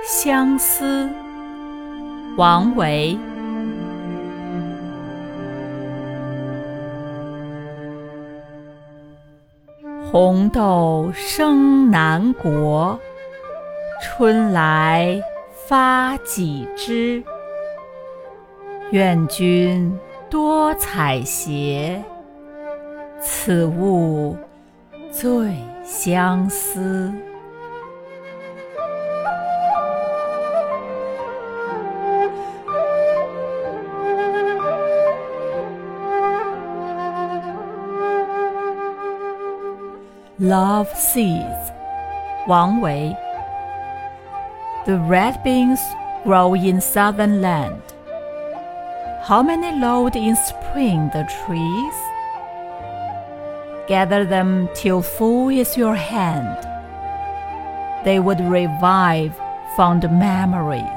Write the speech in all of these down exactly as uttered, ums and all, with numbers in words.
相思，王维。红豆生南国，春来发几枝。愿君多采撷，此物最相思。Love Seeds, 王维。The red beans grow in southern land. How many load in spring the trees? Gather them till full is your hand. They would revive fond memories.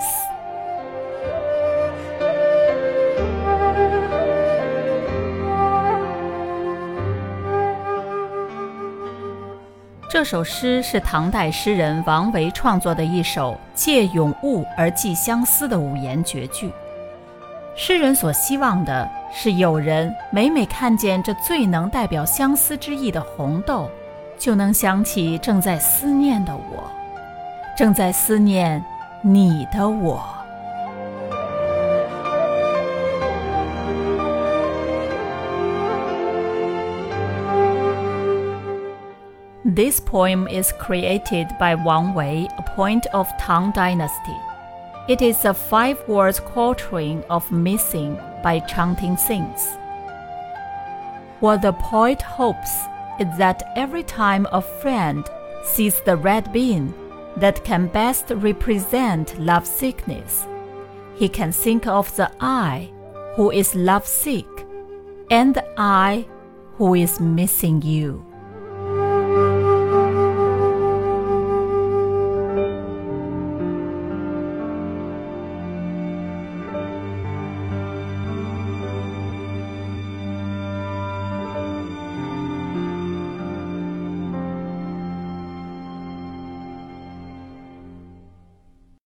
这首诗是唐代诗人王维创作的一首借咏物而寄相思的五言绝句。诗人所希望的是有人每每看见这最能代表相思之意的红豆，就能想起正在思念的我，正在思念你的我。This poem is created by Wang Wei, a poet of Tang Dynasty. It is a five-words quatrain of Missing by Changting sings. What the poet hopes is that every time a friend sees the red bean that can best represent lovesickness, he can think of the I who is lovesick and the I who is missing you.